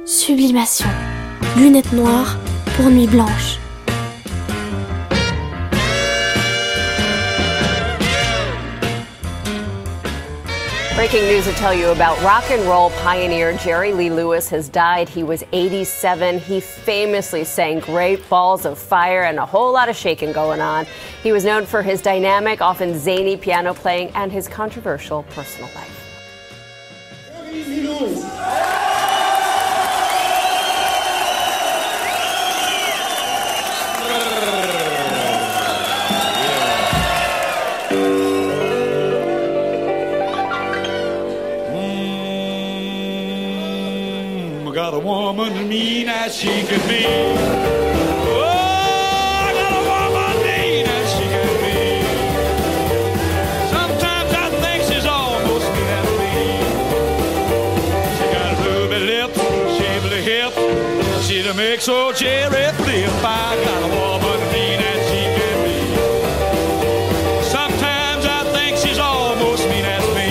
sublimation, lunettes noires pour nuit blanche. Breaking news to tell you about rock and roll pioneer Jerry Lee Lewis has died. He was 87. He famously sang Great Balls of Fire and a whole lot of shaking going on. He was known for his dynamic, often zany piano playing and his controversial personal life. Jerry Lee Lewis. Got a woman mean as she can be. Oh, I got a woman mean as she can be. Sometimes I think she's almost mean as me. She got ruby lips, shapely hips. She'll make so Jerry flip. I got a woman mean as she can be. Sometimes I think she's almost mean as me.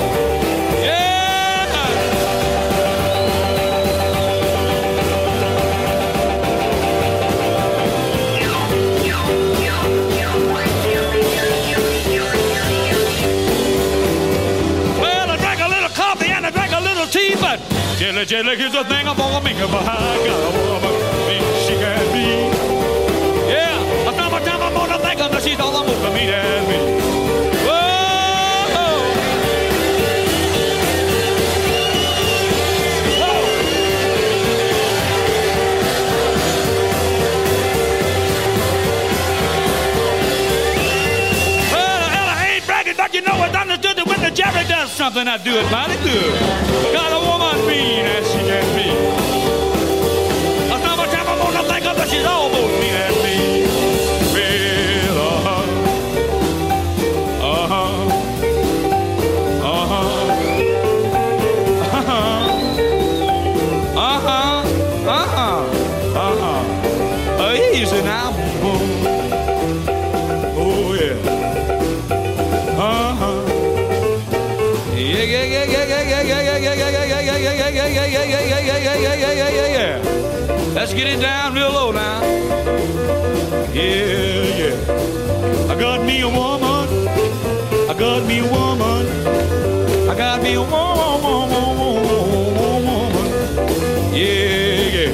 Tea, but jelly, here's the thing I'm gonna make about. I got a woman, mean she can be. Yeah, a time I'm gonna think of her, she's all I'm gonna meet as me. Whoa, well, I ain't bragging, but you know it's understood that when the Jerry does something, I do it mighty good. Got a woman mean as she can be. A time I'm gonna think of her, she's almost mean as me. Well, easy now. Oh, yeah. Yeah. Let's get it down real low now. Yeah. I got me a woman. I got me a woman. I got me a woman. Yeah.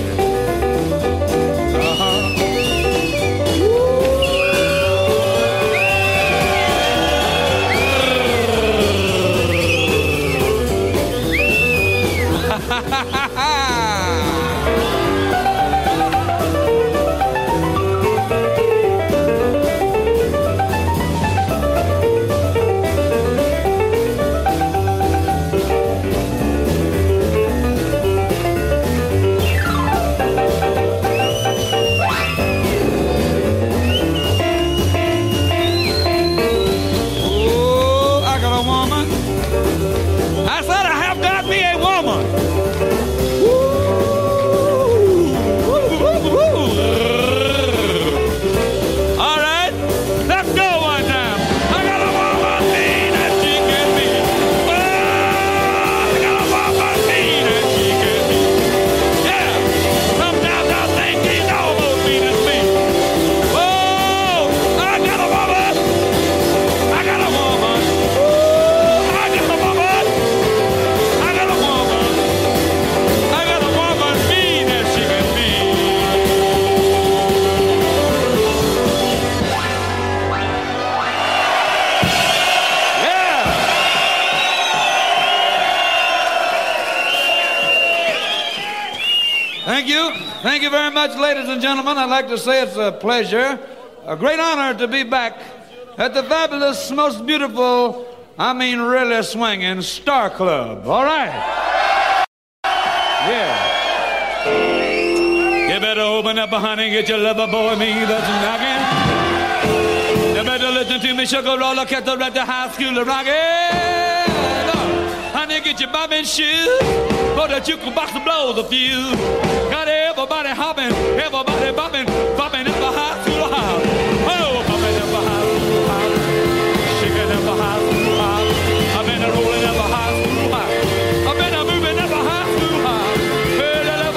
Thank you very much, ladies and gentlemen. I'd like to say it's a pleasure, a great honor to be back at the fabulous, most beautiful, I mean really swinging Star Club. All right. Yeah. You better open up, honey, get your lover boy, me that's knocking. You better listen to me, sugar roller, kettle at the high school of rockin'. Honey, get your bobbin shoes, for the jukebox to blow the fuse. Got everybody hopping, everybody bopping, bopping up the high school house. Oh, bopping up the high school house, shaking up the high school house. I've been rolling up the high school house. I've been moving up the high school house. Well,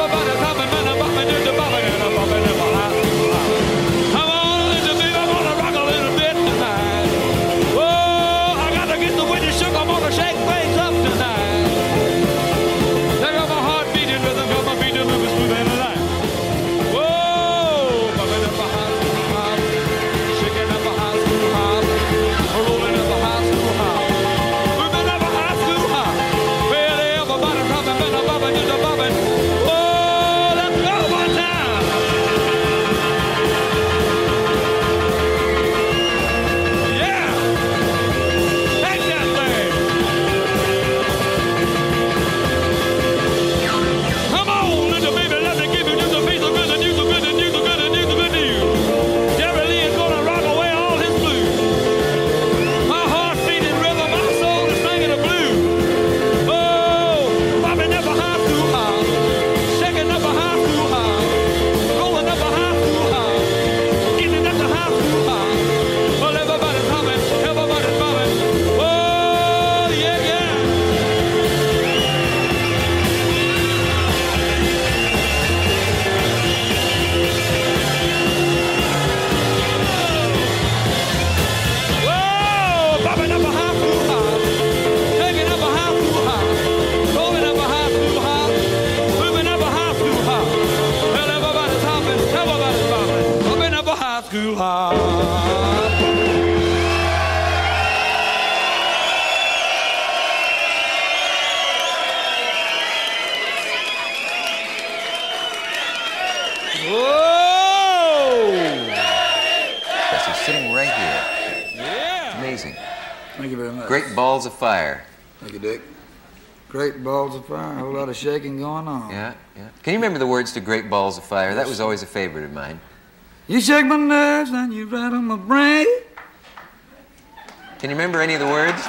Whoa! Yes, he's sitting right here. Yeah. Amazing. Thank you very much. Great balls of fire. Thank you, Dick. Great balls of fire. A whole lot of shaking going on. Yeah, yeah. Can you remember the words to Great Balls of Fire? That was always a favorite of mine. You shake my nerves and you rattle my brain. Can you remember any of the words?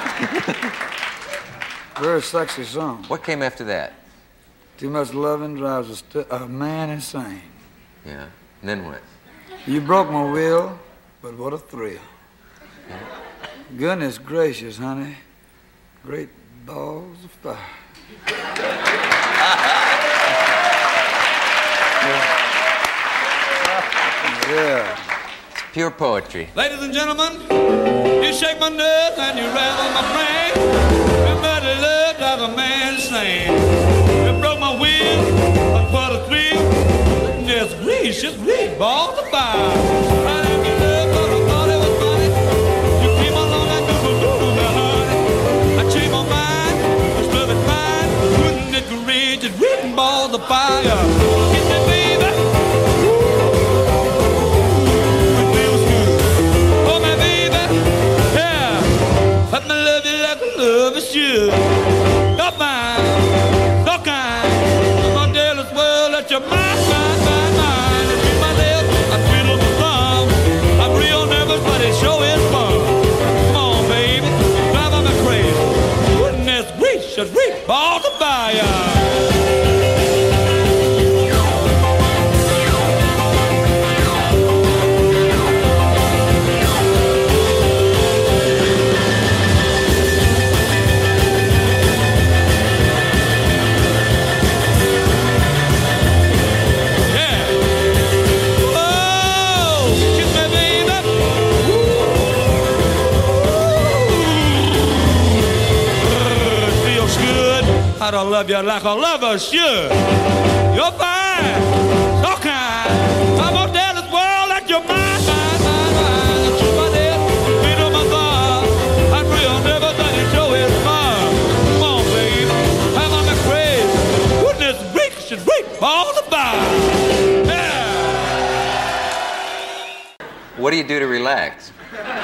Very sexy song. What came after that? Too much loving drives a man insane. Yeah. And then what? You broke my will, but what a thrill. Yeah. Goodness gracious, honey. Great balls of fire. Yeah. It's pure poetry. Ladies and gentlemen, you shake my nerves and you rattle my brain. Everybody love drives a man insane. You broke my will, but what a thrill. Goodness gracious, great balls of fire. I didn't get love, but I thought it was funny. You came along like doodle-doodle, honey. I changed my mind, was perfect fine. Goodness gracious, great balls of fire. Get me, baby. Let me love you like I love you should. You're fine, so kind. My dearest world, let your mind. If you my lips, I twiddle my thumb. I'm real nervous, but it sure is fun. Come on, baby, drive me crazy. Goodness gracious, great balls of fire. I don't love you like a lover should. You're fine, so kind. I'm gonna tell this world that you're mine. Shoot my head, beat on my thumb. I'm real nervous and it sure is fun. Come on, baby, I'm on the craze. Goodness gracious, great balls of fire. Yeah. What do you do to relax?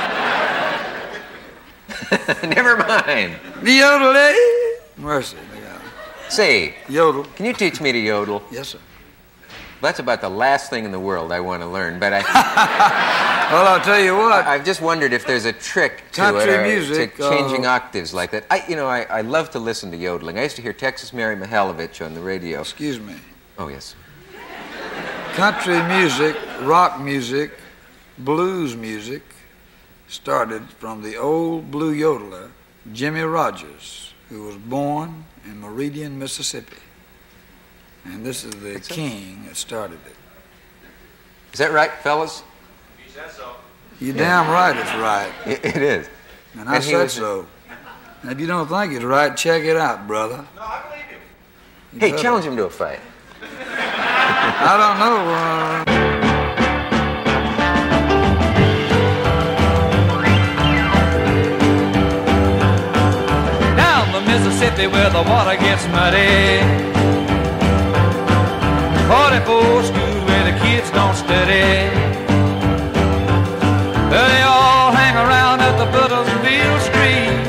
Never mind. Yodel, mercy. Say, Yodel. Can you teach me to yodel? Yes, sir. That's about the last thing in the world I want to learn, but Well, I'll tell you what. I've just wondered if there's a trick to Country it, or music, to changing octaves like that. I love to listen to yodeling. I used to hear Texas Mary Mihailovich on the radio. Excuse me. Oh, yes. Country music, rock music, blues music started from the old blue yodeler, Jimmy Rogers, who was born in Meridian, Mississippi. And this is the king that started it. Is that right, fellas? He said so. You're damn right it's right. It is. And I said so. And if you don't think it's right, check it out, brother. No, I believe you. Hey, challenge him to a fight. I don't know. Down the Mississippi where the water gets muddy, 44 school where the kids don't study. They all hang around at the Buttersville Street.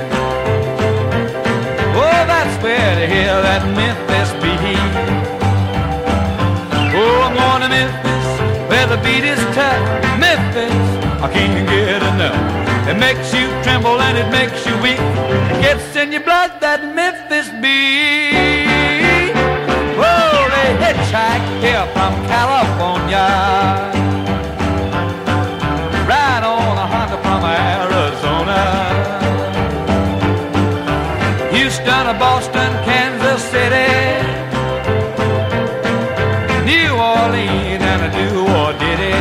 Oh, that's where they hear that Memphis beat. Oh, I'm going to Memphis where the beat is tough. Memphis, I can't get enough. It makes you tremble and it makes you weak. It gets in your blood, that Memphis beat. Whoa, they hitchhike here from California, ride on a Honda from Arizona, Houston or Boston, Kansas City, New Orleans and a do or diddy.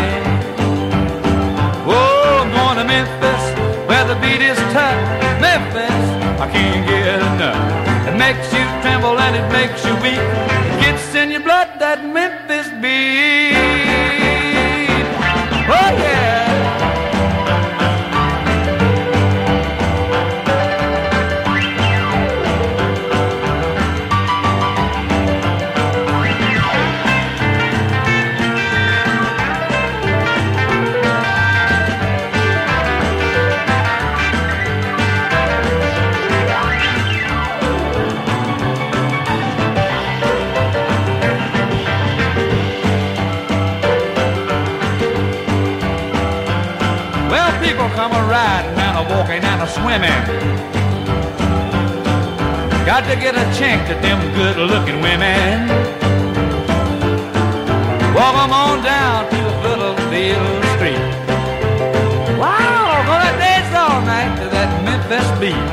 Oh, I'm going to Memphis where the beat is tough. Memphis, I can't get enough. It makes you tremble and it makes you weak. It gets in your blood, that Memphis beat. Oh yeah. come a riding and a walking and a swimming. Got to get a chance at them good-looking women. Walk 'em on down to Philadelphia Street. Wow, gonna dance all night to that Memphis beat.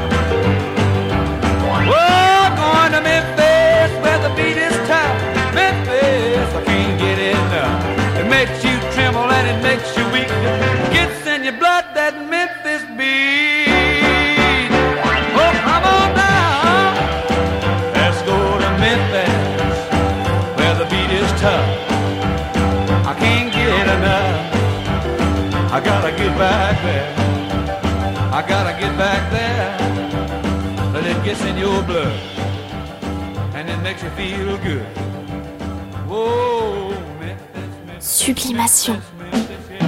Oh, going to Memphis where the beat is tough. Memphis, I can't get enough. It makes you tremble and it makes you weak. Gets in your blood, that Memphis beat. Oh, come on down. Let's go to Memphis where the beat is tough. I can't get enough. I gotta get back there. I gotta get back there. But it gets in your blood and it makes you feel good. Whoa, Memphis, Memphis, Sublimation. Memphis, yeah.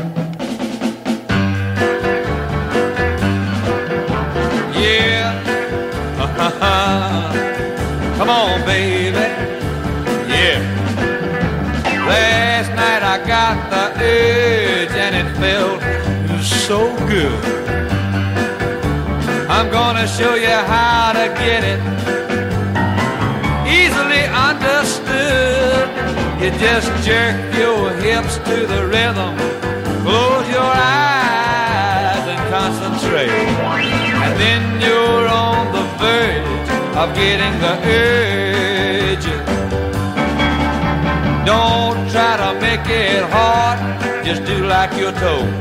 Yeah. Come on, baby. Yeah. Last night I got the urge and it felt so good. I'm gonna show you how to get it. Easily understood. You just jerk your hips to the rhythm. Close your eyes and concentrate. And then you're on the verge of getting the urge. Don't try to make it hard, just do like you're told.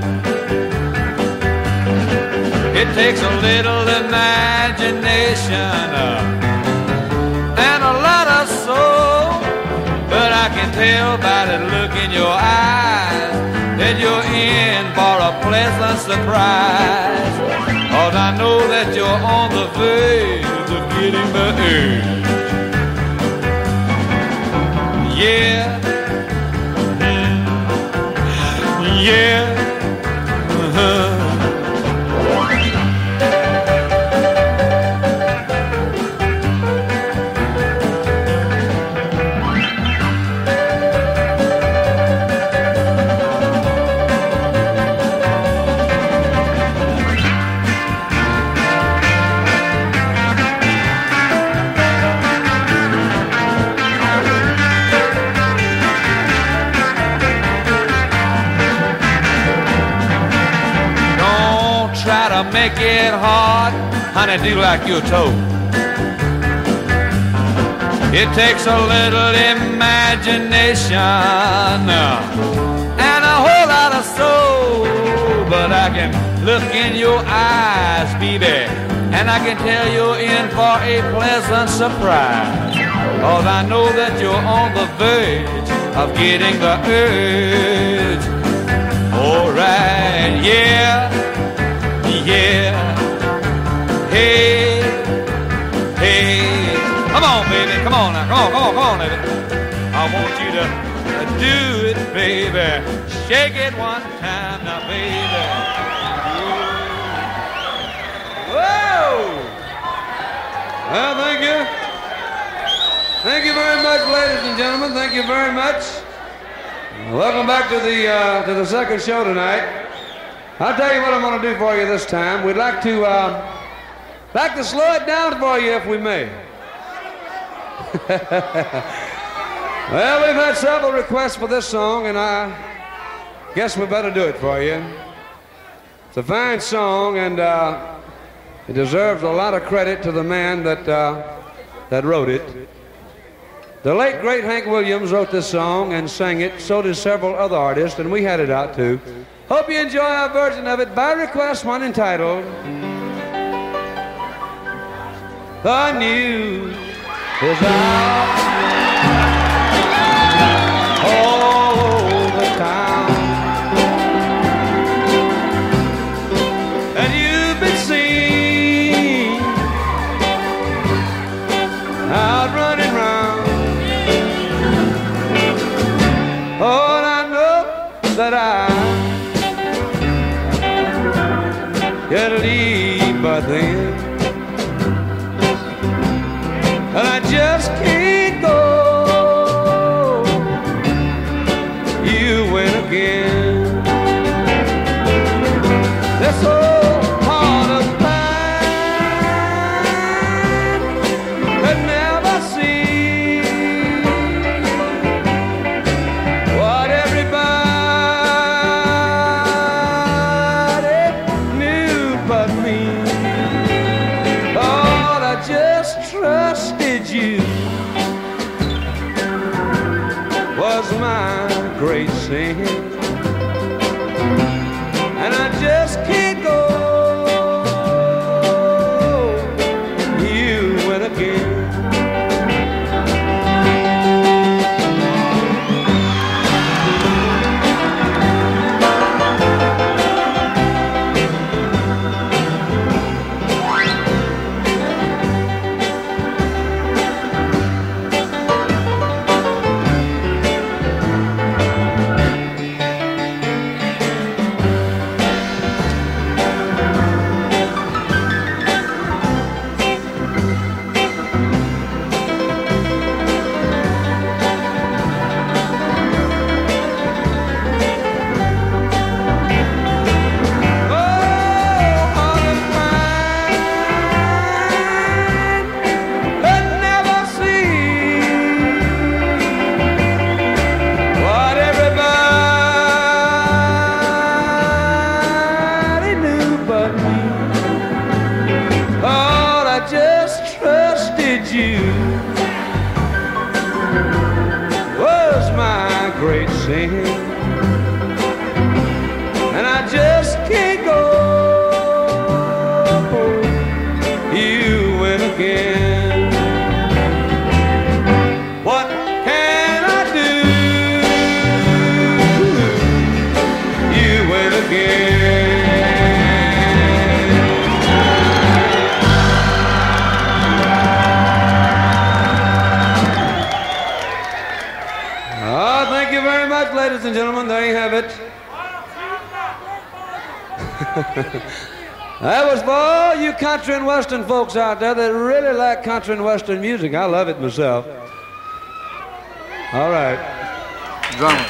It takes a little imagination and a lot of soul, but I can tell by the look in your eyes that you're in for a pleasant surprise. 'Cause I know that you're on the verge of getting the urge. Yeah. Yeah. Make it hard, honey, do like you're told. It takes a little imagination and a whole lot of soul, but I can look in your eyes, baby, and I can tell you're in for a pleasant surprise. 'Cause I know that you're on the verge of getting the urge. All right, yeah. Yeah, hey, hey, come on, baby, come on now, come on, baby. I want you to do it, baby. Shake it one time now, baby. Whoa! Well, thank you. Thank you very much, ladies and gentlemen. Thank you very much. Welcome back to the second show tonight. I'll tell you what I'm going to do for you this time. We'd like to slow it down for you if we may. Well, we've had several requests for this song, and I guess we better do it for you. It's a fine song, and it deserves a lot of credit to the man that wrote it. The late, great Hank Williams wrote this song and sang it. So did several other artists, and we had it out, too. Hope you enjoy our version of it. By request, one entitled The News is Out all over town, and you've been seen out running round. Oh, and I know that I gotta leave by then, and I just can't go. You win again. my great sin, and I just can't go. You went again. And I just can't go. You went again. What can I do? You went again. Oh, thank you very much, ladies and gentlemen. There you have it. That was for all you country and western folks out there that really like country and western music. I love it myself. All right. Drummer.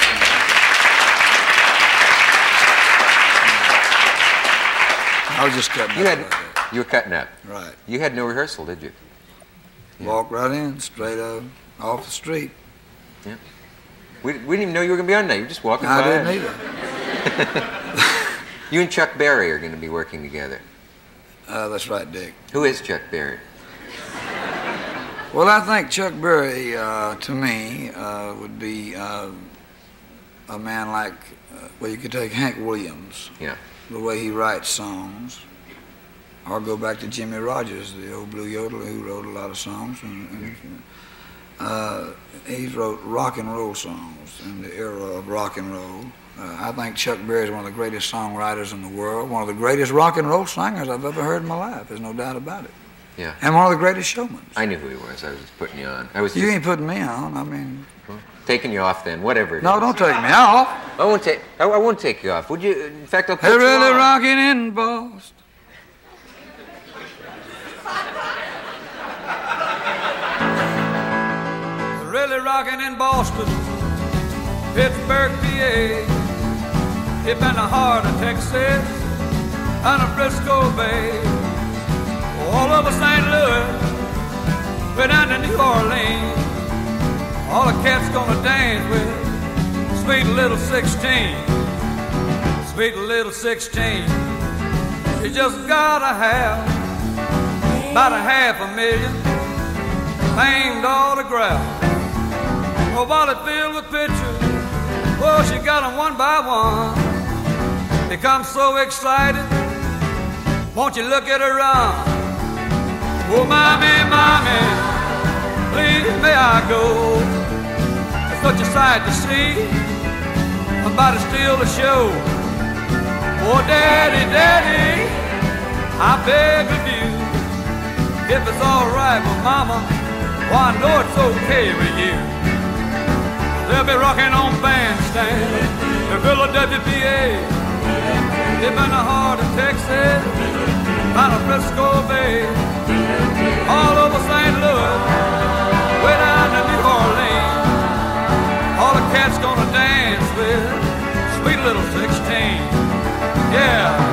I was just cutting up. You were cutting up. Right. You had no rehearsal, did you? Walk right in, straight up, off the street. Yeah. We didn't even know you were going to be on there. You were just walking by. I didn't either. You and Chuck Berry are going to be working together. That's right, Dick. Who is Chuck Berry? Well, I think Chuck Berry, to me, would be a man like, well, you could take Hank Williams. Yeah. The way he writes songs. Or go back to Jimmy Rogers, the old blue yodeler who wrote a lot of songs. He wrote rock and roll songs in the era of rock and roll. I think Chuck Berry is one of the greatest songwriters in the world, one of the greatest rock and roll singers I've ever heard in my life. There's no doubt about it. Yeah. And one of the greatest showmen. I knew who he was. I was just putting you on. You ain't putting me on. I mean... Taking you off then, whatever it No, is. don't take me off. I won't take you off. Would you? In fact, I'll put They're you really on. rocking in Boston. They're really rocking in Boston, Pittsburgh, PA. Deep in the heart of Texas, and the Frisco Bay. All over St. Louis, way down to New Orleans. All the cats gonna dance with sweet little 16. Sweet little 16. You just gotta have about $500,000 famed autograph. A wallet filled with pictures. Oh, she got them one by one. Become so excited. Won't you look at her run? Oh, mommy, mommy, please may I go? It's such a sight to see. My body still to show. Oh, daddy, daddy, I beg of you, if it's all right with mama, well, I know it's okay with you. They'll be rocking on bandstand in Philadelphia, PA. Deep in the heart of Texas, out of Frisco Bay. All over St. Louis, way down to New Orleans. All the cats gonna dance with sweet little 16. Yeah.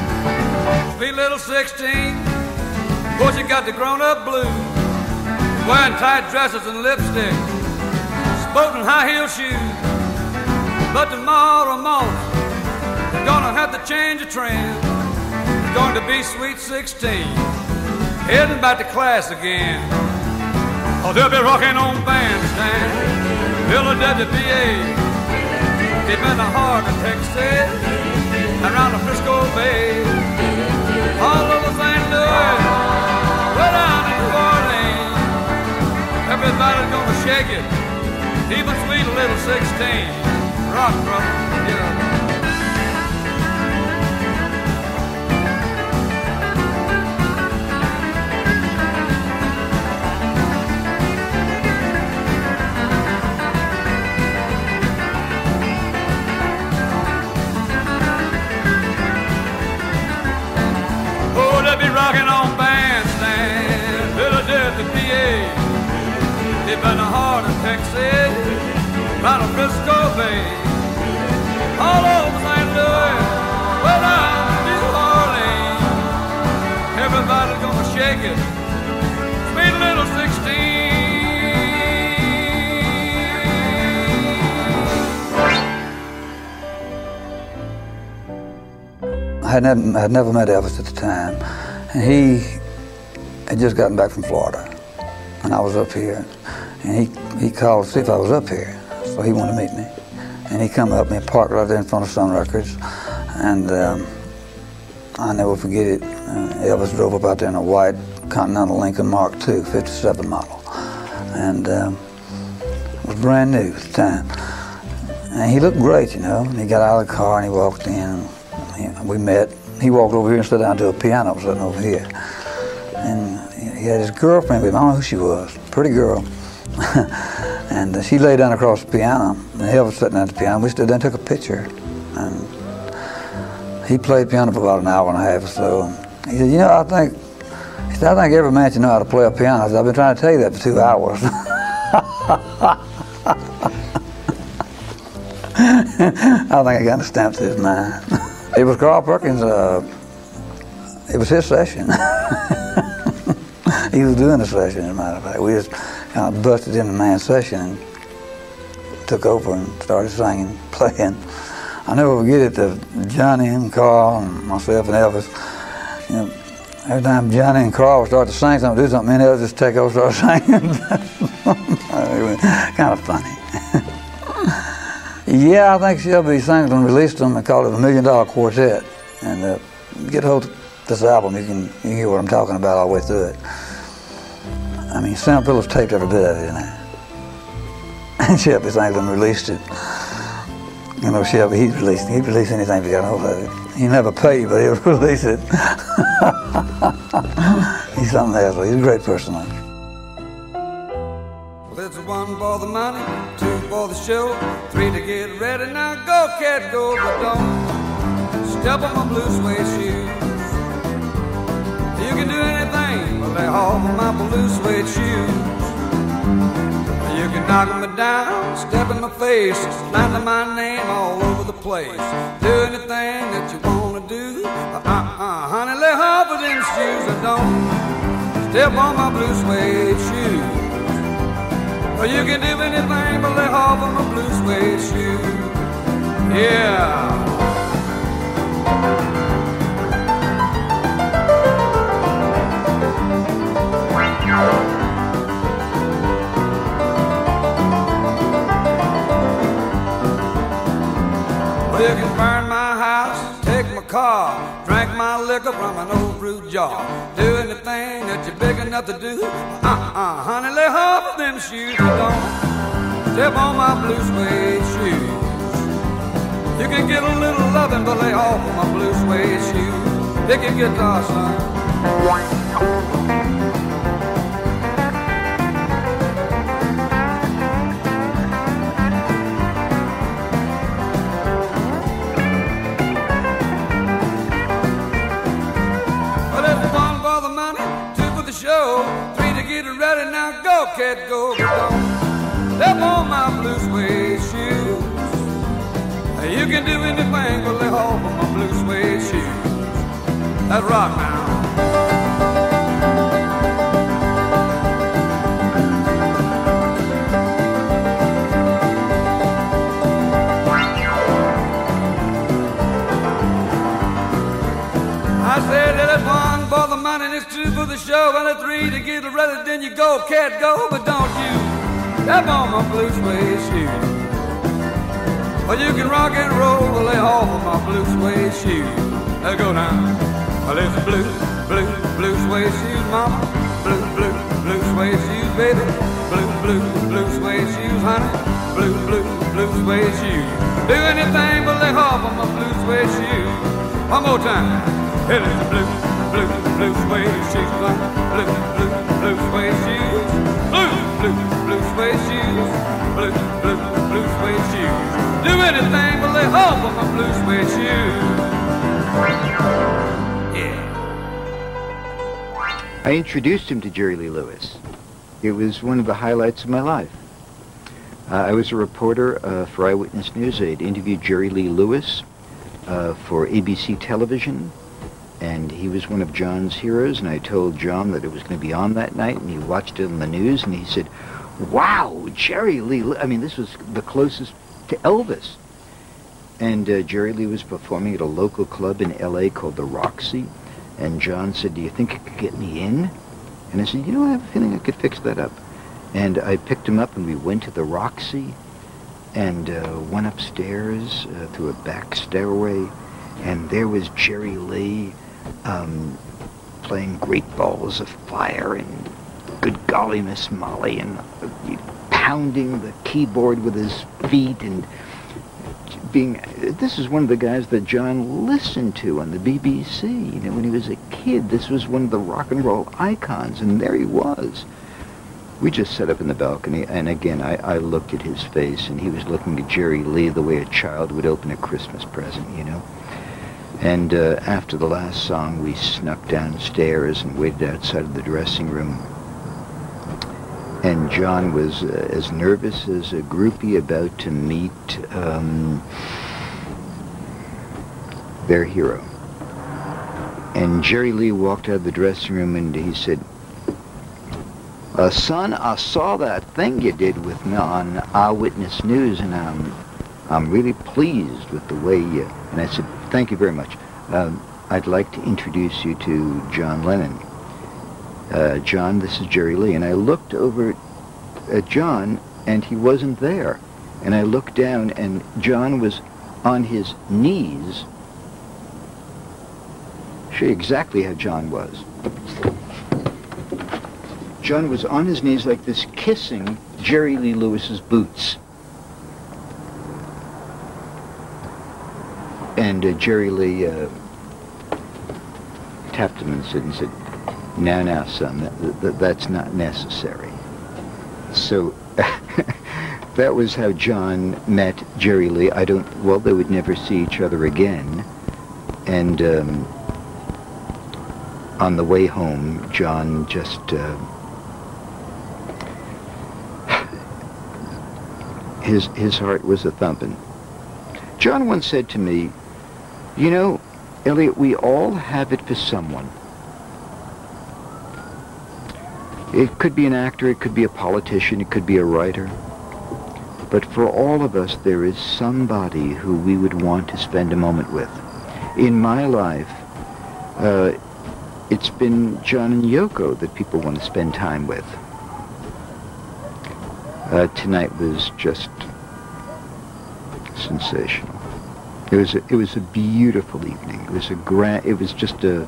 Sweet little 16, of course you got the grown-up blues. wearing tight dresses and lipstick, sporting high-heel shoes. But tomorrow morning, they're gonna have to change the trend. It's going to be Sweet 16, heading back to class again. Oh, they'll be rocking on bandstand, Philadelphia, PA, deep in the heart of Texas, around the Frisco Bay, all over St. Louis, right down to New Orleans. Everybody's gonna shake it, even sweet little 16. Rock, brother, yeah. Oh, they'll be rocking on bandstand, Philadelphia, PA, deep in the heart of Texas, round the Frisco Bay. All over St. Louis, way down to New Orleans. Everybody's gonna shake it, sweet little 16. I had never met Elvis at the time, and he had just gotten back from Florida, and I was up here, and he called to see if I was up here, so he wanted to meet me. And he come up and parked right there in front of Sun Records, and I'll never forget it. Elvis drove up out there in a white Continental Lincoln Mark II, 57 model, and it was brand new at the time. And he looked great, you know. And he got out of the car and he walked in. And we met. He walked over here and sat down to a piano sitting over here. And he had his girlfriend with him. I don't know who she was. Pretty girl. And she lay down across the piano, and Elvis sitting at the piano. We stood there and took a picture. And he played piano for about an hour and a half or so. And he said, you know, I think every man should know how to play a piano. I said, I've been trying to tell you that for 2 hours. I don't think I got the stamp to his mind. It was Carl Perkins, it was his session. He was doing the session, as a matter of fact. We just kind of busted in the man's session and took over and started singing, playing. I'll never forget it, Johnny and Carl and myself and Elvis. You know, every time Johnny and Carl would start to sing something, do something, me and Elvis just take over and start singing. It was kind of funny. Yeah, I think Shelby Singleton released them and called it $1 Million Quartet. And get a hold of this album, you can hear what I'm talking about all the way through it. I mean, Sam Phillips taped every bit of it in there. And Shelby Singleton released it. You know, Shelby, he'd release anything he got a hold of it. He never paid, but he would release it. He's something else. He's a great person. Well, it's 1 for the money, 2 for the show, 3 to get ready. Now go, cat, go, but don't step on my blue suede shoes. You can do anything but lay off of my blue suede shoes. You can knock me down, step in my face, slander my name all over the place. Do anything that you want to do. Honey, lay off of them shoes and don't step on my blue suede shoes. Well, you can do anything but lay off of my blue suede shoes. Yeah. You can burn my house, take my car, drink my liquor from an old fruit jar. Do anything that you're big enough to do. Honey, lay off of them shoes. Don't step on my blue suede shoes. You can get a little loving, but lay off of my blue suede shoes. Pick your guitar, son. Show 3 to get ready. Now go, cat, go, but don't step on my blue suede shoes. You can do anything but lay off of my blue suede shoes. That's rock now. you get ready, then you go, cat, go, but don't you step on my blue suede shoes. Well, you can rock and roll, but lay off of my blue suede shoes. Let's go now. Well, it's blue suede shoes, mama. Blue suede shoes, baby. Blue suede shoes, honey. Blue suede shoes. Do anything but lay off of my blue suede shoes. One more time. It is blue suede shoes, honey. Blue suede shoes. Blue suede shoes. Blue suede shoes. Do anything but lay off of my blue suede shoes. Yeah. I introduced him to Jerry Lee Lewis. It was one of the highlights of my life. I was a reporter for Eyewitness News. I had interviewed Jerry Lee Lewis for ABC television, and he was one of John's heroes, and I told John that it was going to be on that night, and he watched it on the news, and he said, wow, Jerry Lee, I mean, this was the closest to Elvis. And Jerry Lee was performing at a local club in L.A. called the Roxy, and John said, do you think you could get me in? And I said, you know, I have a feeling I could fix that up. And I picked him up, and we went to the Roxy, and went upstairs through a back stairway, and there was Jerry Lee playing Great Balls of Fire and Good Golly Miss Molly, and pounding the keyboard with his feet, and this is one of the guys that John listened to on the BBC. You know, when he was a kid, this was one of the rock and roll icons, and there he was. We just sat up in the balcony, and again, I looked at his face, and he was looking at Jerry Lee the way a child would open a Christmas present, you know. And after the last song, we snuck downstairs and waited outside of the dressing room. And John was as nervous as a groupie about to meet their hero. And Jerry Lee walked out of the dressing room, and he said, son, I saw that thing you did with me on Eyewitness News, and I'm really pleased with the way you... And I said, thank you very much. I'd like to introduce you to John Lennon. John, this is Jerry Lee. And I looked over at John, and he wasn't there. And I looked down, and John was on his knees. Show you exactly how John was. John was on his knees like this, kissing Jerry Lee Lewis's boots. And Jerry Lee tapped him and said, now, son, that's not necessary. So that was how John met Jerry Lee. They would never see each other again. And on the way home, John just... His heart was a-thumping. John once said to me, you know, Elliot, we all have it for someone. It could be an actor, it could be a politician, it could be a writer. But for all of us, there is somebody who we would want to spend a moment with. In my life, it's been John and Yoko that people want to spend time with. Tonight was just sensational. It was a beautiful evening. It was just a...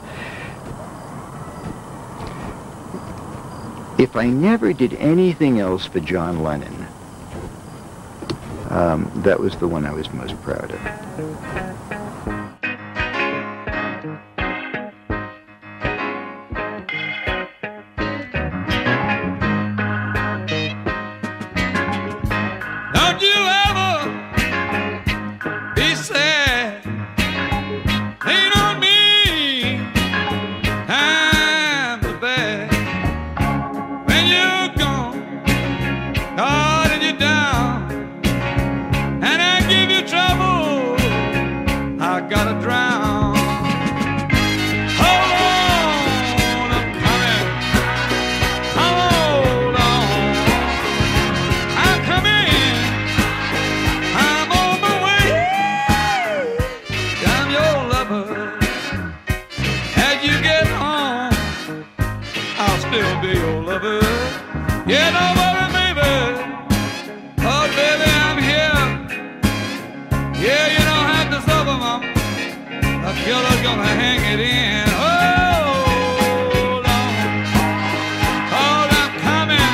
If I never did anything else for John Lennon, that was the one I was most proud of. your lover. Yeah, don't worry, baby. Oh, baby, I'm here. Yeah, you don't have to suffer, mama. The killer's gonna hang it in. Hold on. Hold on, coming.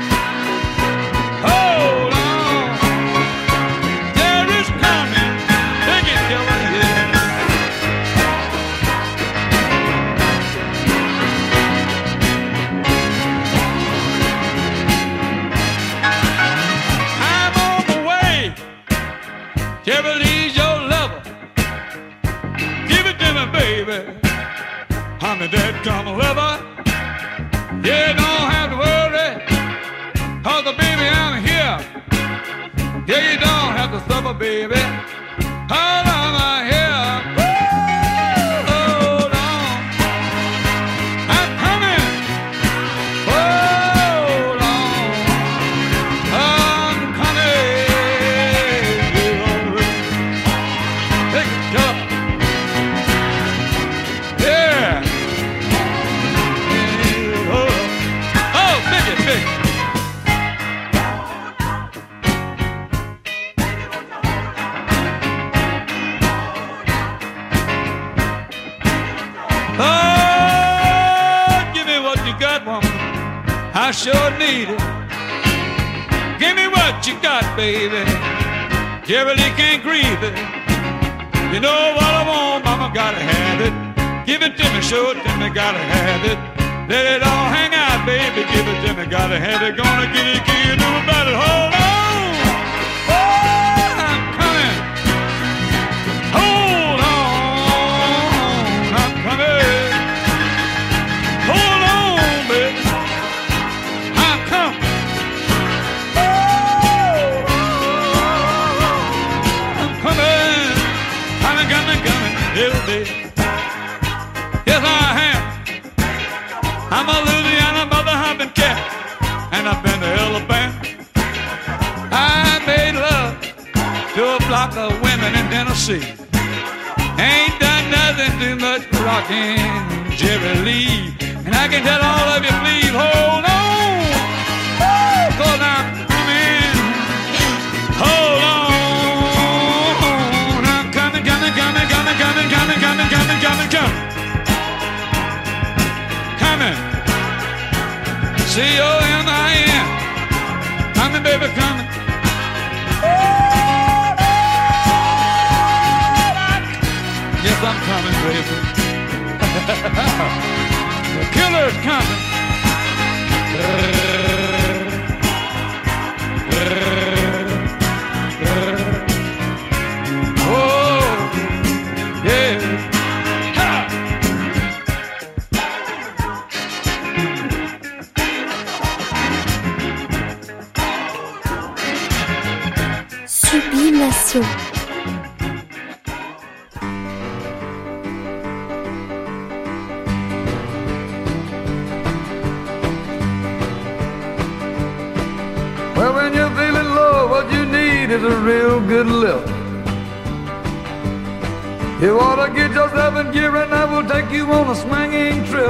Hold on. There is coming. Take it, killer, yeah. I'm on the way. Jerry Lee's your lover. Give it to me, baby. I'm a dead come lover. Yeah, don't have to worry. Cause the baby, I'm here. Yeah, you don't have to suffer, baby. Hold on, I'm here. Hold on. I'm coming. Hold on. I'm coming. Take it, go. Yeah. Oh, biggie, big. Oh, give me what you got, woman. I sure need it. Give me what you got, baby. Jerry Lee can't grieve it. You know what I want, mama, gotta have it. Give it to me, show it to me, gotta have it. Let it all hang out, baby, give it to me, gotta have it. Gonna get it, can't do about it. Hold on. Oh, I'm coming. Hold on. I'm coming. Hold on, baby. I'm coming. I'm coming. Coming, little baby. Yes, I am. I'm a Louisiana mother humping cat, and I've been to Alabama. I made love to a flock of women in Tennessee. Ain't done nothing too much rocking Jerry Lee. And I can tell all of you, please hold on, cause I'm coming. Hold on. I'm coming, coming, coming, coming, coming, coming, coming, coming, coming, coming. Coming. C-O-M-I-N. Coming, baby, coming. Yes, I'm coming, baby. The killer's coming. Oh, yeah. Ha! Sublimation. Well, when you're feeling low, what you need is a real good lift. You ought to get yourself in gear and I will take you on a swinging trip.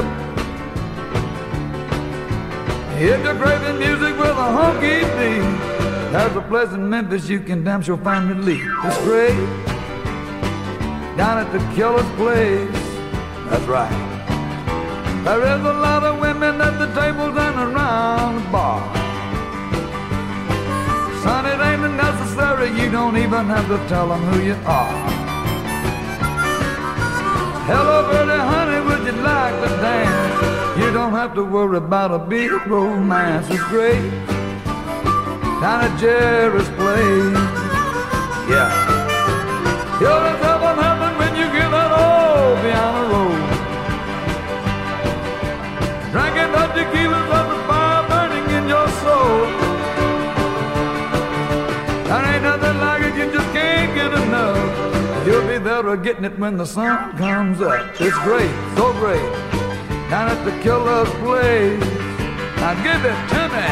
If you're craving music with a honky beat, there's a place in Memphis you can damn sure find relief. It's great, down at the Killer's Place. That's right. There is a lot of women at the tables and around the bar. Son, it ain't necessary, you don't even have to tell them who you are. Hello, pretty honey, would you like to dance? You don't have to worry about a big romance. It's great, down at Jerry's Place. Yeah. You'll just heaven, heaven when you get that old piano roll. Drinking the tequilas of the fire burning in your soul. There ain't nothing like it, you just can't get enough. You'll be there getting it when the sun comes up. It's great, so great, down at the Killer's Place. Now give it to me.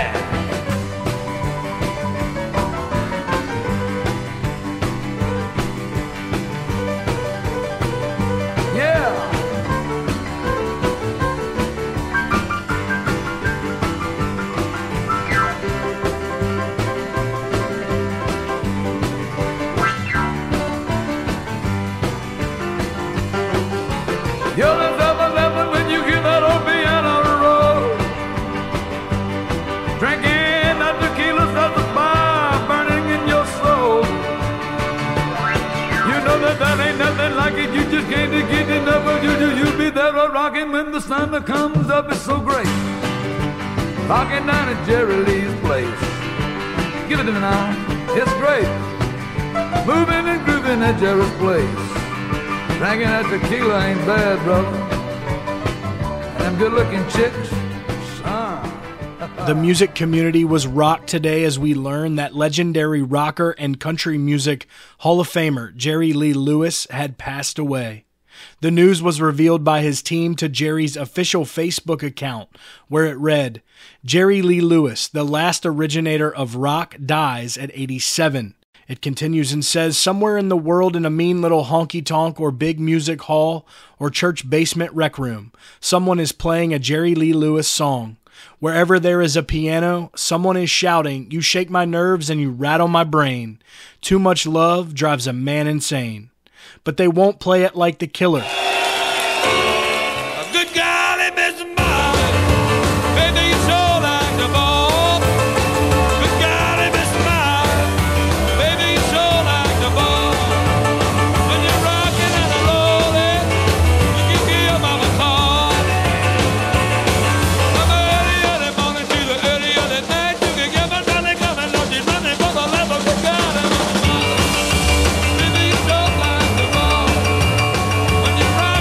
Yeah. Drinking that tequila starts the fire burning in your soul. You know that ain't nothing like it. You just can't get enough of you. You'll be there rocking when the sun comes up. It's so great. Rocking down at Jerry Lee's place. Give it to me now. It's great. Moving and grooving at Jerry's place. Drinking that tequila ain't bad, brother. And them good-looking chicks, son. The music community was rocked today as we learned that legendary rocker and country music Hall of Famer Jerry Lee Lewis had passed away. The news was revealed by his team to Jerry's official Facebook account, where it read, "Jerry Lee Lewis, the last originator of rock, dies at 87. It continues and says, somewhere in the world in a mean little honky-tonk or big music hall or church basement rec room, someone is playing a Jerry Lee Lewis song. Wherever there is a piano, someone is shouting, 'You shake my nerves and you rattle my brain. Too much love drives a man insane.' But they won't play it like the Killer. A good golly, Mr. Marley, baby, you so like the ball. Good golly, Mr. Marley, baby, you so like the ball. When you're rocking and rolling, you can hear your mama call. From early morning to the early night, you can get my dolly coming, Lord, she's running for the love of good golly, Mr. Marley, baby, you so like the ball. When you're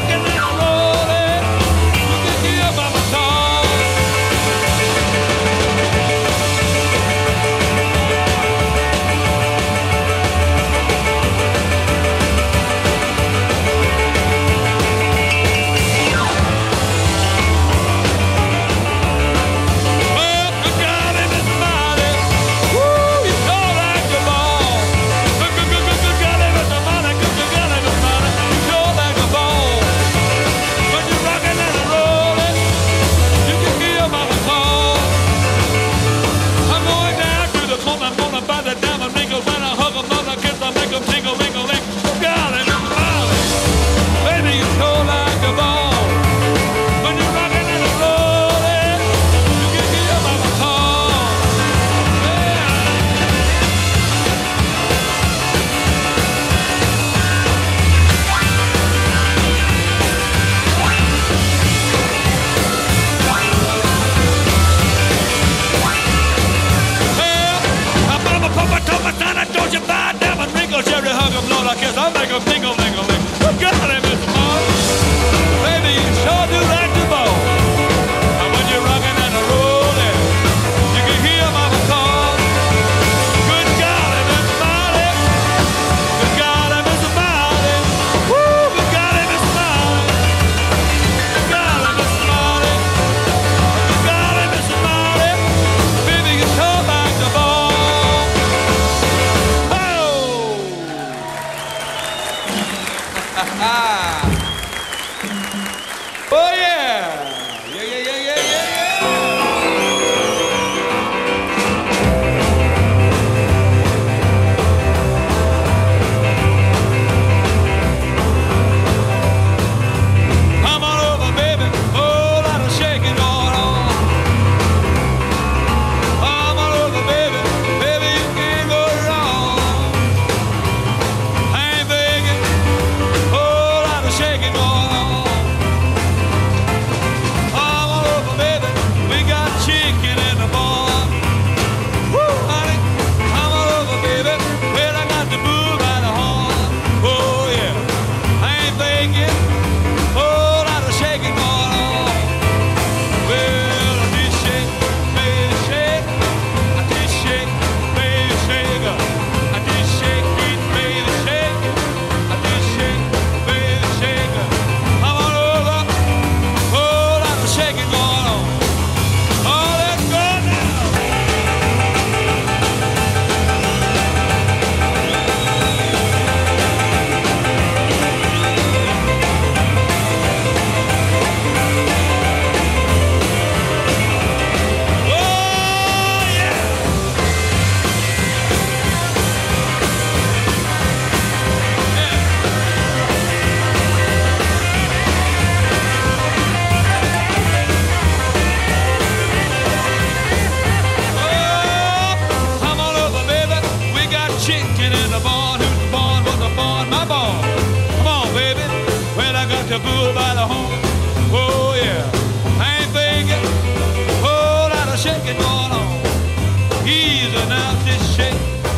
shaking going on. Easy now, just shake.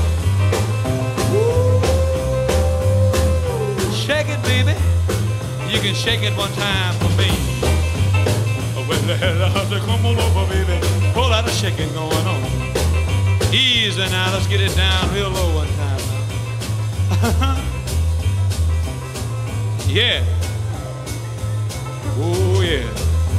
Woo. Shake it, baby. You can shake it one time for me. Well, come on over, baby. Whole lot of shaking going on. Easy now, let's get it down real low one time now. Yeah. Oh, yeah.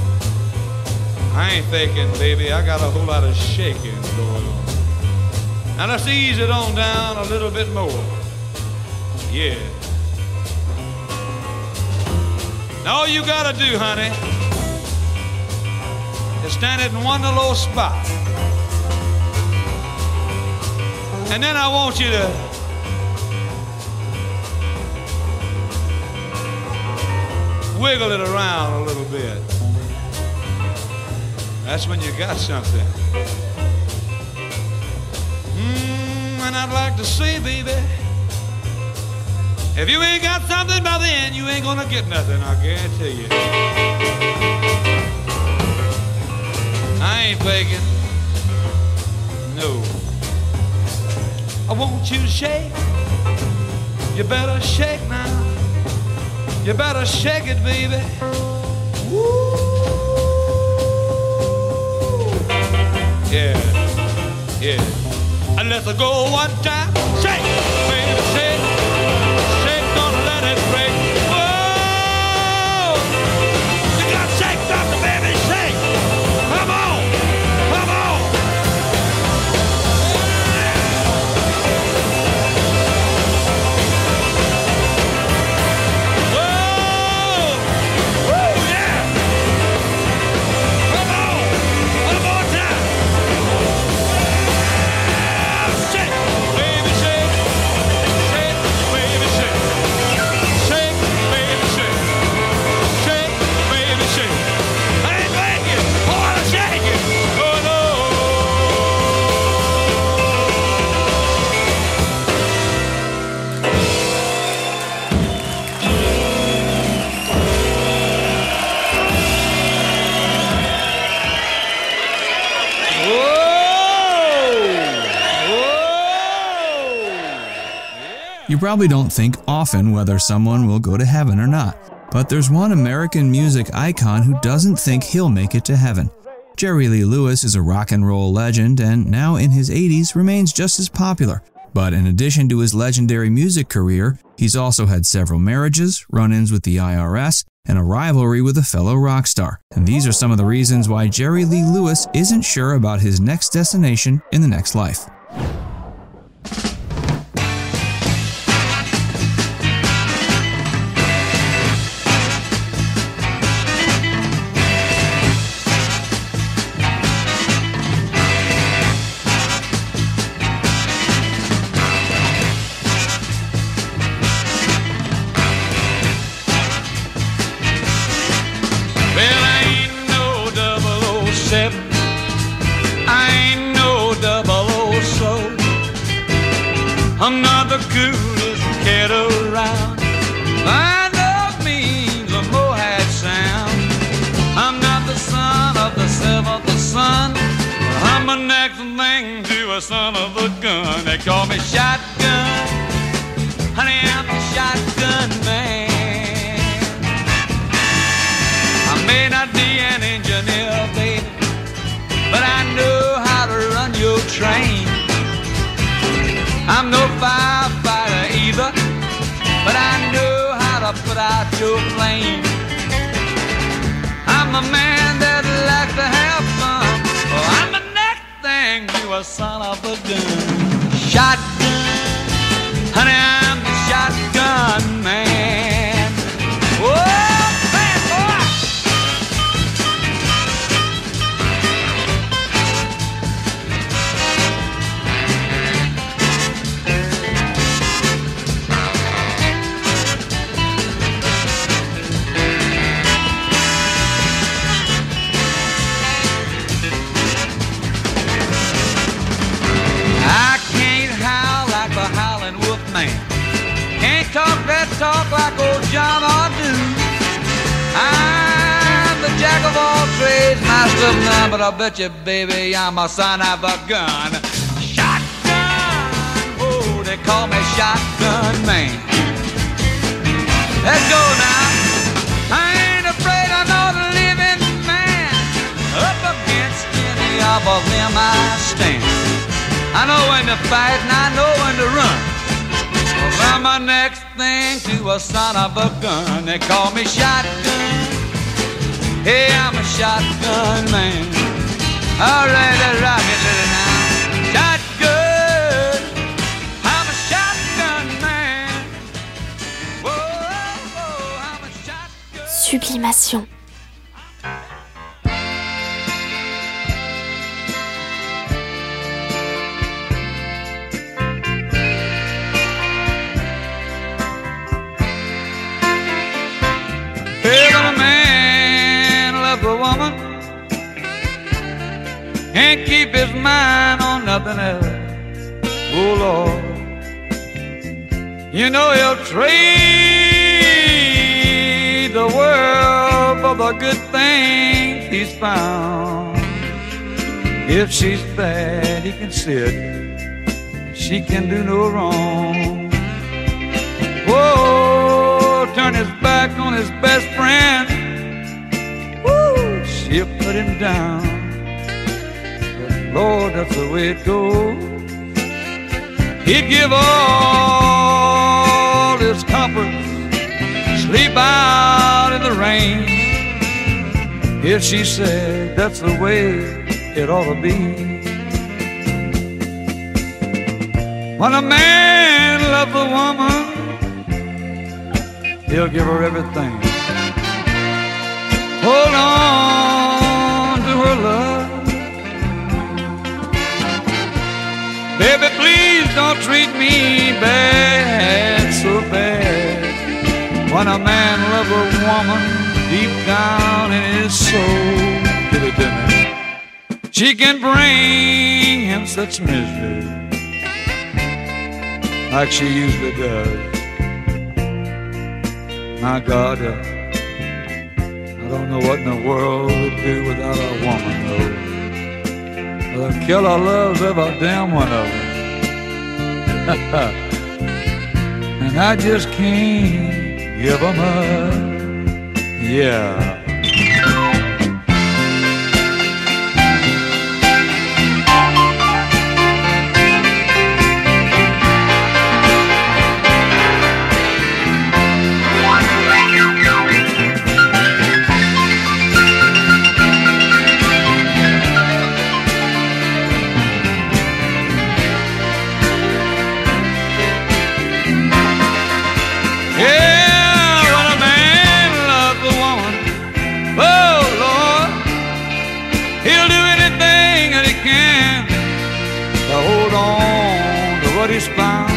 I ain't faking, baby. I got a whole lot of shaking going on. Now let's ease it on down a little bit more. Yeah. Now all you gotta do, honey, is stand it in one little spot. And then I want you to wiggle it around a little bit. That's when you got something. And I'd like to say, baby, if you ain't got something by then, you ain't gonna get nothing, I guarantee you. I ain't faking. No. I want you to shake. You better shake now. You better shake it, baby. Woo. Yeah, yeah. And let's go one time. Shake, baby, shake. Shake, don't let it break. Whoa! You got shake something, baby, shake. Come on, come on. You probably don't think often whether someone will go to heaven or not, but there's one American music icon who doesn't think he'll make it to heaven. Jerry Lee Lewis is a rock and roll legend and now in his 80s remains just as popular. But in addition to his legendary music career, he's also had several marriages, run-ins with the IRS, and a rivalry with a fellow rock star. And these are some of the reasons why Jerry Lee Lewis isn't sure about his next destination in the next life. I'm not the coolest cat around. My love means a Moab sound. I'm not the son of the seventh son. I'm the next thing to a son of a gun. They call me Shotgun. Honey, I'm the shotgun man. I may not be an engineer, baby, but I know how to run your train. I'm no firefighter either, but I know how to put out your flame. I'm a man that likes to have fun. Oh, I'm the next thing to a son of a gun. Shotgun, honey, I'm the shotgun man. Oh, man, boy! Can't talk that talk like old John or do. I'm the jack of all trades. nice little nun, but I bet you, baby, I'm a son of a gun. Shotgun, oh, they call me Shotgun Man. Let's go now. I ain't afraid of no living man. Up against any of them I stand. I know when to fight and I know when to run. Well, I'm my next thing to a son of a gun. They call me Shotgun. Hey, I'm a shotgun man. All right, let's rock it, little now. Shotgun. I'm a shotgun man. Whoa, I'm a shotgun. Sublimation. Hey, when a man loves a woman, can't keep his mind on nothing else. Oh, Lord, you know he'll trade the world for the good things he's found. If she's bad, he can sit. She can do no wrong. Whoa, turn his back on his best friend. Woo, she'll put him down. But Lord, that's the way it goes. He'd give all his comforts, sleep out in the rain, if she said that's the way it ought to be. When a man loves a woman, he'll give her everything. Hold on to her love. Baby, please don't treat me bad, so bad. When a man loves a woman deep down in his soul, give it to me. She can bring him such misery like she usually does. My God, I don't know what in the world we'd do without a woman, though. The killer loves every damn one of them. And I just can't give them up. Yeah. He's found.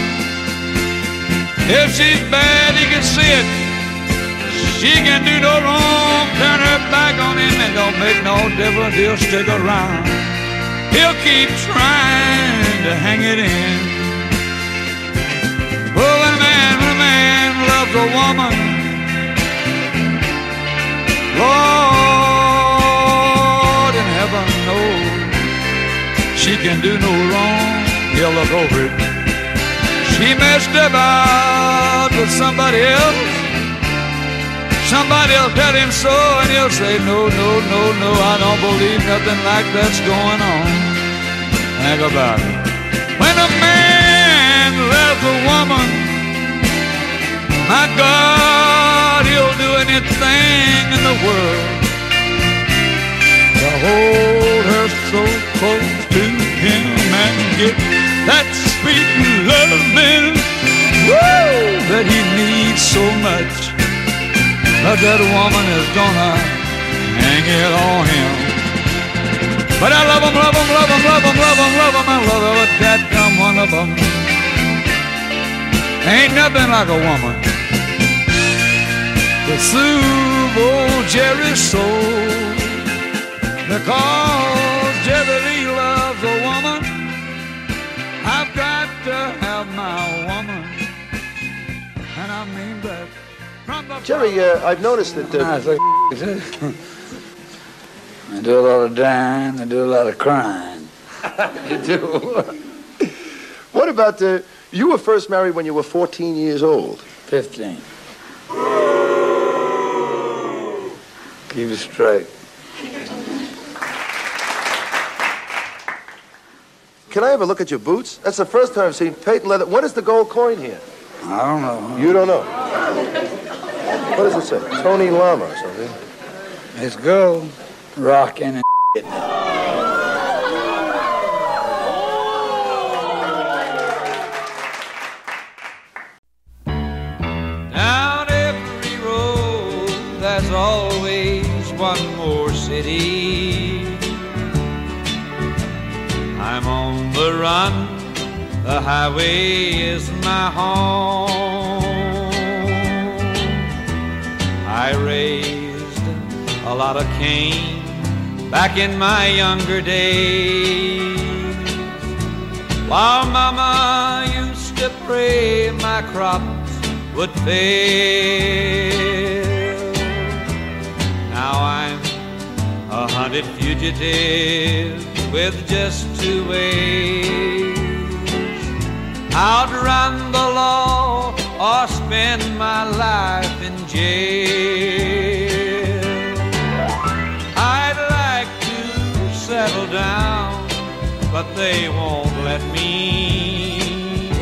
If she's bad, he can see it. She can do no wrong. Turn her back on him and don't make no difference. He'll stick around. He'll keep trying to hang it in. Oh, when a man loves a woman, Lord in heaven knows she can do no wrong. He'll look over it. She messed about with somebody else. Somebody will tell him so, and he'll say, no, no, no, no, I don't believe nothing like that's going on. Think about it. When a man loves a woman, my God, he'll do anything in the world to hold her so close to him and get that sweet loving, woo, that he needs so much. But that woman is gonna hang it on him. But I love him, love him, love him, love him, love him, love him, I love him, but that dumb one of them. Ain't nothing like a woman to soothe old Jerry's soul. Because Jerry Lee loves a woman, I've got to have my woman, and I mean that. They do a lot of dying, they do a lot of crying. They do. What about you were first married when you were 14 years old? 15. Keep it straight. Can I have a look at your boots? That's the first time I've seen patent leather. What is the gold coin here? I don't know. You don't know? What does it say? Tony Lama or something? It's gold, rocking and shit. Down every road, there's always one more city. I'm on the run, the highway is my home. I raised a lot of cane back in my younger days, while Mama used to pray my crops would fail. Now I'm a hunted fugitive with just two ways: outrun the law or spend my life in jail. I'd like to settle down, but they won't let me.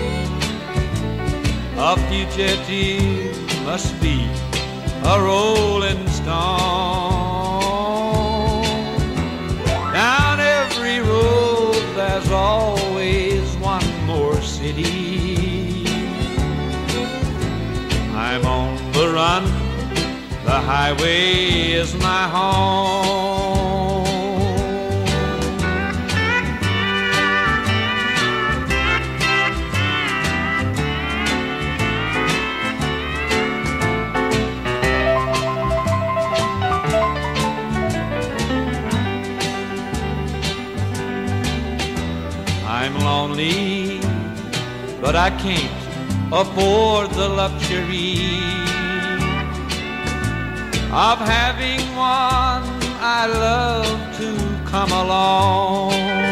A fugitive must be a rolling stone. Down every road there's always one more city. I'm on the run, the highway is my home. I'm lonely, but I can't afford the luxury of having one I love to come along.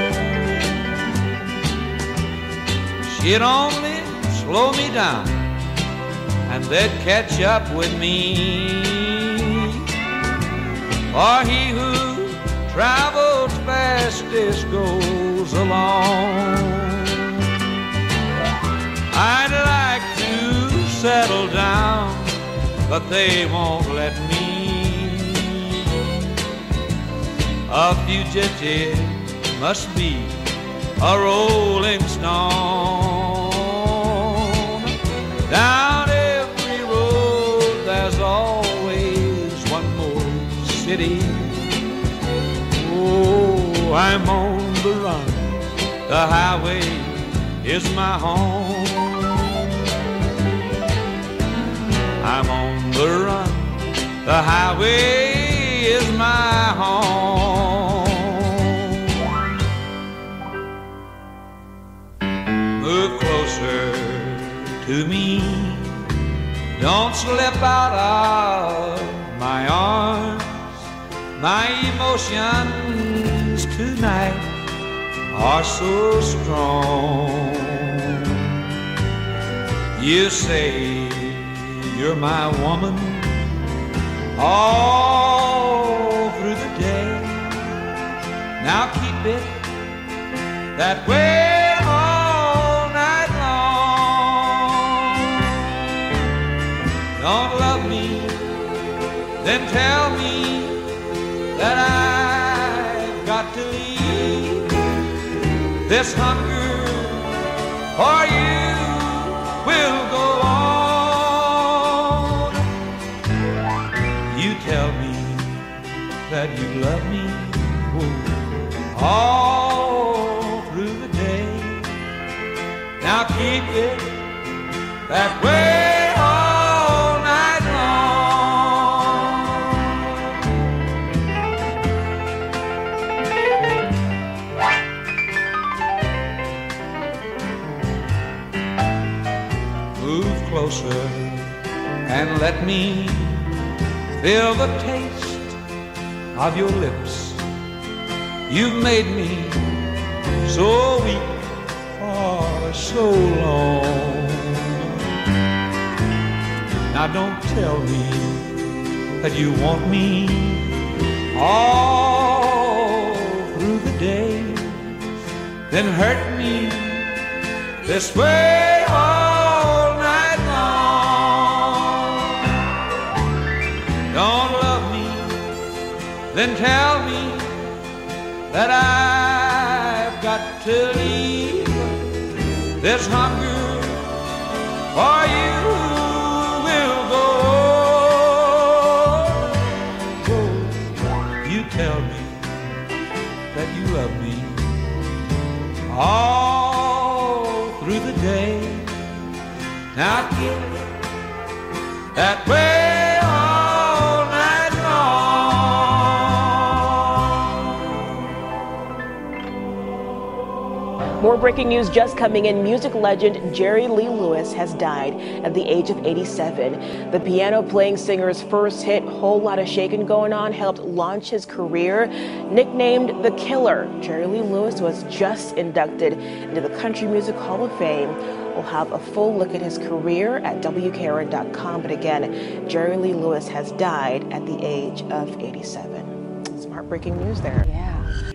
She'd only slow me down and they'd catch up with me. For he who travels fastest goes along. I'd like to settle down, but they won't let me. A fugitive must be a rolling stone. Down every road there's always one more city. Oh, I'm on the run, the highway is my home. I'm on the run, the highway is my home. Move closer to me, don't slip out of my arms. My emotions tonight are so strong. You say you're my woman all through the day. Now keep it that way all night long. Don't love me, then tell me that I've got to leave. This hunger for you will go on. You tell me that you love me all through the day. Now keep it that way all night long. Move closer and let me feel the taste of your lips You've made me so weak for so long. Now don't tell me that you want me all through the day, then hurt me this way all night long. Don't love me, then tell me that I've got to leave. This hunger for you will go. You tell me that you love me all through the day. Now keep it that way all night long. More breaking news just coming in. Music legend Jerry Lee Lewis has died at the age of 87. The piano-playing singer's first hit, Whole Lotta Shakin' Going On, helped launch his career. Nicknamed The Killer, Jerry Lee Lewis was just inducted into the Country Music Hall of Fame. We'll have a full look at his career at WKRN.com. But again, Jerry Lee Lewis has died at the age of 87. Some heartbreaking news there. Yeah.